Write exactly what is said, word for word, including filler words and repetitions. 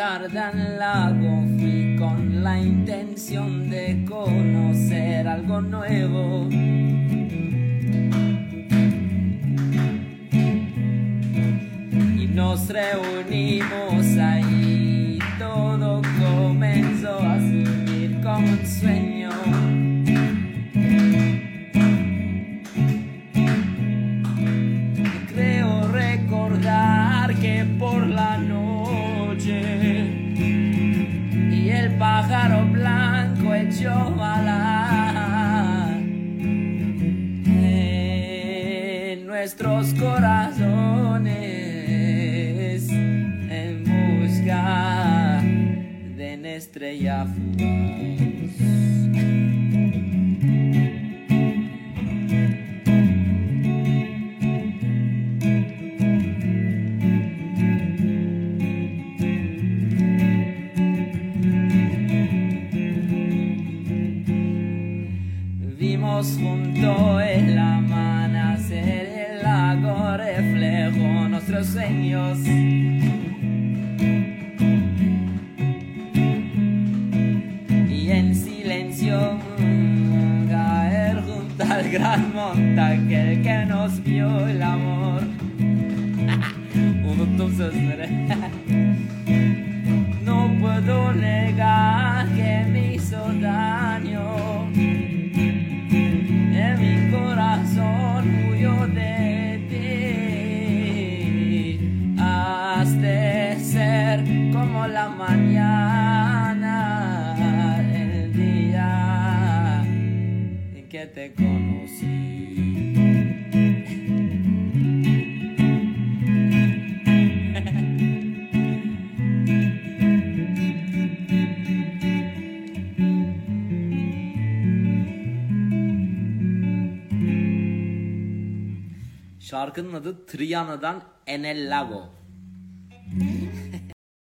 Garden Lago fui con la intención de conocer algo nuevo. Y nos reunimos ahí, todo comenzó a fluir como un sueño. Creo recordar que por la noche y el pájaro blanco echó a volar en nuestros corazones en busca de una estrella fugaz. Vimos junto el amanecer, el lago reflejó nuestros sueños. Y en silencio caer junto al gran monte aquel que nos vio el amor. No puedo negar que me hizo daño. Mi corazón huyó de ti. Has de ser como la mañana, el día en que te conocí. Şarkının adı Triana'dan Enel Lago.